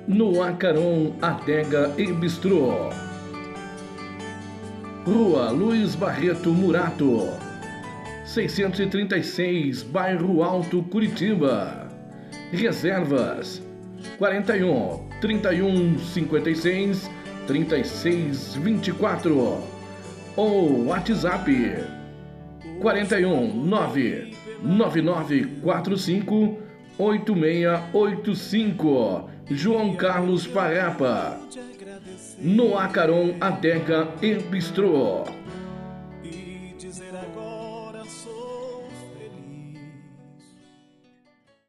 no Acaron Adega e Bistrô. Rua Luiz Barreto Murato, 636, Bairro Alto, Curitiba. Reservas 41 31 56 36 24 ou WhatsApp 41 9 9945 8685. João Carlos Parapa, no Acaron Adega e Bistrô.